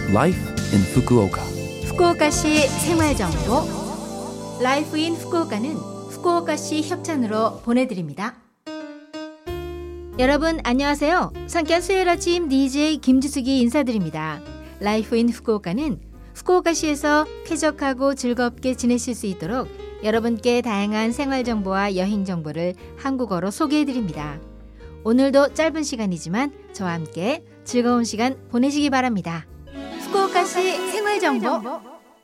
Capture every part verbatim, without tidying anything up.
Life in Fukuoka. 후쿠오카시 생활정보 라이프 인 후쿠오카는 후쿠오카시 협찬으로 보내드립니다. 여러분 안녕하세요. 상쾌한 수요일 아침 디제이 김주숙이 인사드립니다. 라이프 인 후쿠오카는 후쿠오카시에서 쾌적하고 즐겁게 지내실 수 있도록 여러분께 다양한 생활정보와 여행정보를 한국어로 소개해드립니다. 오늘도 짧은 시간이지만 저와 함께 즐거운 시간 보내시기 바랍니다. 후쿠오카시 생활정보.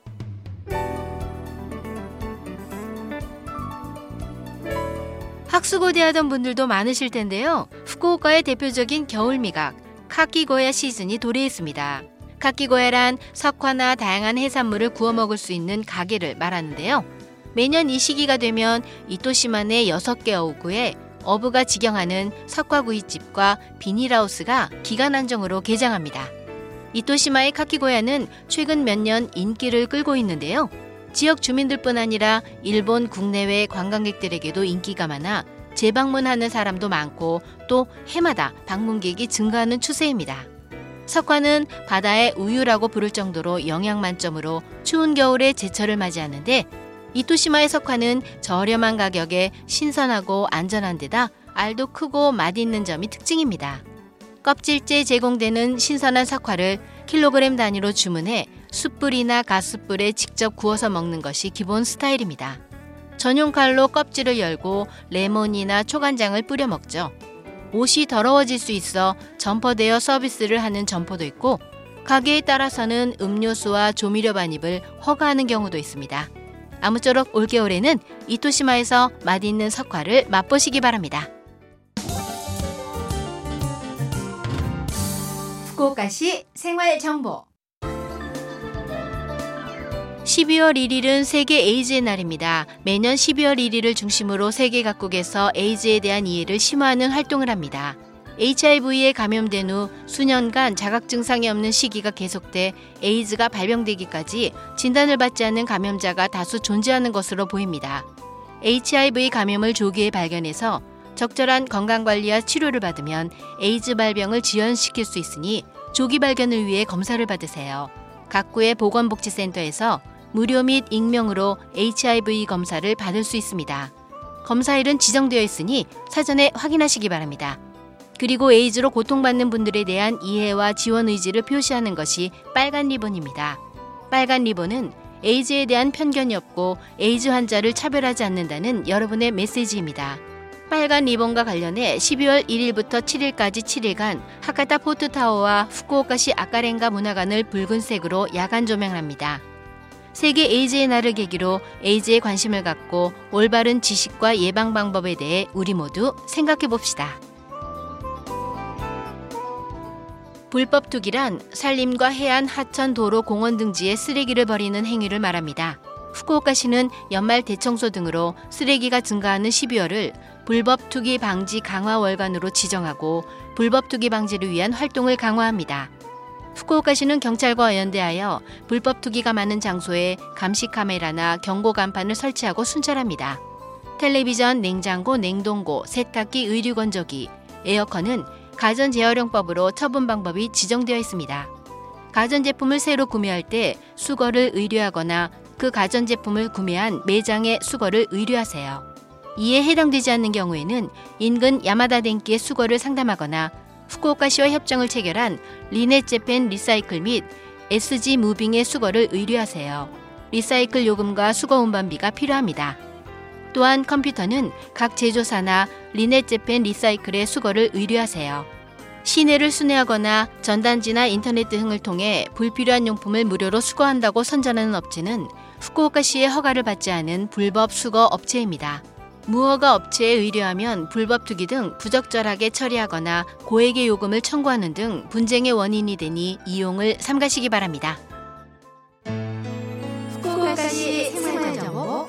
학수고대하던 분들도 많으실 텐데요. 후쿠오카의 대표적인 겨울미각 카키고야 시즌이 도래했습니다. 카키고야란 석화나 다양한 해산물을 구워 먹을 수 있는 가게를 말하는데요. 매년 이 시기가 되면 이토시마의 여섯 개 어구에 어부가 직영하는 석화구이집과 비닐하우스가 기간 한정으로 개장합니다. 이토시마의 카키고야는 최근 몇 년 인기를 끌고 있는데요. 지역 주민들뿐 아니라 일본 국내외 관광객들에게도 인기가 많아 재방문하는 사람도 많고 또 해마다 방문객이 증가하는 추세입니다. 석화는 바다의 우유라고 부를 정도로 영양 만점으로 추운 겨울에 제철을 맞이하는데 이토시마의 석화는 저렴한 가격에 신선하고 안전한 데다 알도 크고 맛있는 점이 특징입니다. 껍질째 제공되는 신선한 석화를 킬로그램 단위로 주문해 숯불이나 가스불에 직접 구워서 먹는 것이 기본 스타일입니다. 전용 칼로 껍질을 열고 레몬이나 초간장을 뿌려 먹죠. 옷이 더러워질 수 있어 점퍼되어 서비스를 하는 점퍼도 있고 가게에 따라서는 음료수와 조미료 반입을 허가하는 경우도 있습니다. 아무쪼록 올겨울에는 이토시마에서 맛있는 석화를 맛보시기 바랍니다. 후쿠오카시 생활정보. 십이월 일일은 세계 에이즈의 날입니다. 매년 십이월 일일을 중심으로 세계 각국에서 에이즈에 대한 이해를 심화하는 활동을 합니다. 에이치아이브이에 감염된 후 수년간 자각 증상이 없는 시기가 계속돼 에이즈가 발병되기까지 진단을 받지 않는 감염자가 다수 존재하는 것으로 보입니다. 에이치아이브이 감염을 조기에 발견해서 적절한 건강관리와 치료를 받으면 에이즈 발병을 지연시킬 수 있으니 조기 발견을 위해 검사를 받으세요. 각구의 보건복지센터에서 무료 및 익명으로 에이치아이브이 검사를 받을 수 있습니다. 검사일은 지정되어 있으니 사전에 확인하시기 바랍니다. 그리고 에이즈로 고통받는 분들에 대한 이해와 지원 의지를 표시하는 것이 빨간 리본입니다. 빨간 리본은 에이즈에 대한 편견이 없고 에이즈 환자를 차별하지 않는다는 여러분의 메시지입니다. 빨간 리본과 관련해 십이월 일일부터 칠일까지 칠일간 하카타 포트타워와 후쿠오카시 아카렌가 문화관을 붉은색으로 야간 조명합니다. 세계 에이즈의 날을 계기로 에이즈에 관심을 갖고 올바른 지식과 예방 방법에 대해 우리 모두 생각해 봅시다. 불법 투기란 산림과 해안, 하천, 도로, 공원 등지에 쓰레기를 버리는 행위를 말합니다. 후쿠오카시는 연말 대청소 등으로 쓰레기가 증가하는 십이월을 불법 투기 방지 강화 월간으로 지정하고 불법 투기 방지를 위한 활동을 강화합니다. 후쿠오카시는 경찰과 연대하여 불법 투기가 많은 장소에 감시 카메라나 경고 간판을 설치하고 순찰합니다. 텔레비전, 냉장고, 냉동고, 세탁기, 의류건조기, 에어컨은 가전재활용법으로 처분 방법이 지정되어 있습니다. 가전제품을 새로 구매할 때 수거를 의뢰하거나 그 가전제품을 구매한 매장에 수거를 의뢰하세요. 이에 해당되지 않는 경우에는 인근 야마다 덴키의 수거를 상담하거나 후쿠오카시와 협정을 체결한 리넷 재팬 리사이클 및 에스지 무빙의 수거를 의뢰하세요. 리사이클 요금과 수거 운반비가 필요합니다. 또한 컴퓨터는 각 제조사나 리넷 재팬 리사이클의 수거를 의뢰하세요. 시내를 순회하거나 전단지나 인터넷 등을 통해 불필요한 용품을 무료로 수거한다고 선전하는 업체는 후쿠오카시의 허가를 받지 않은 불법 수거 업체입니다. 무허가 업체에 의뢰하면 불법 투기 등 부적절하게 처리하거나 고액의 요금을 청구하는 등 분쟁의 원인이 되니 이용을 삼가시기 바랍니다. 후쿠오카시 생활정보.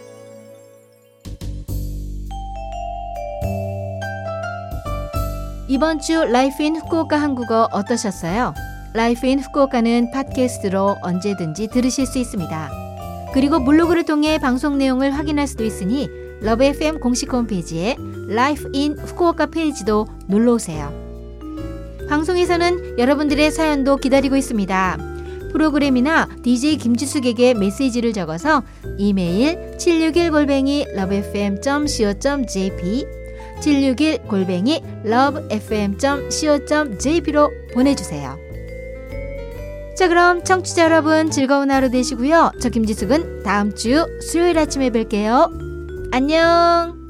이번 주 라이프 인 후쿠오카 한국어 어떠셨어요? 라이프 인 후쿠오카는 팟캐스트로 언제든지 들으실 수 있습니다. 그리고 블로그를 통해 방송 내용을 확인할 수도 있으니 러브 에프엠 공식 홈페이지에 라이프 인 후쿠오카 페이지도 놀러오세요. 방송에서는 여러분들의 사연도 기다리고 있습니다. 프로그램이나 디제이 김지숙에게 메시지를 적어서 이메일 칠육일 골뱅이 러브에프엠 점 씨오 점 제이피 칠육일 골뱅이 러브에프엠 점 씨오 점 제이피로 보내주세요. 자, 그럼 청취자 여러분 즐거운 하루 되시고요. 저 김지숙은 다음 주 수요일 아침에 뵐게요. 안녕.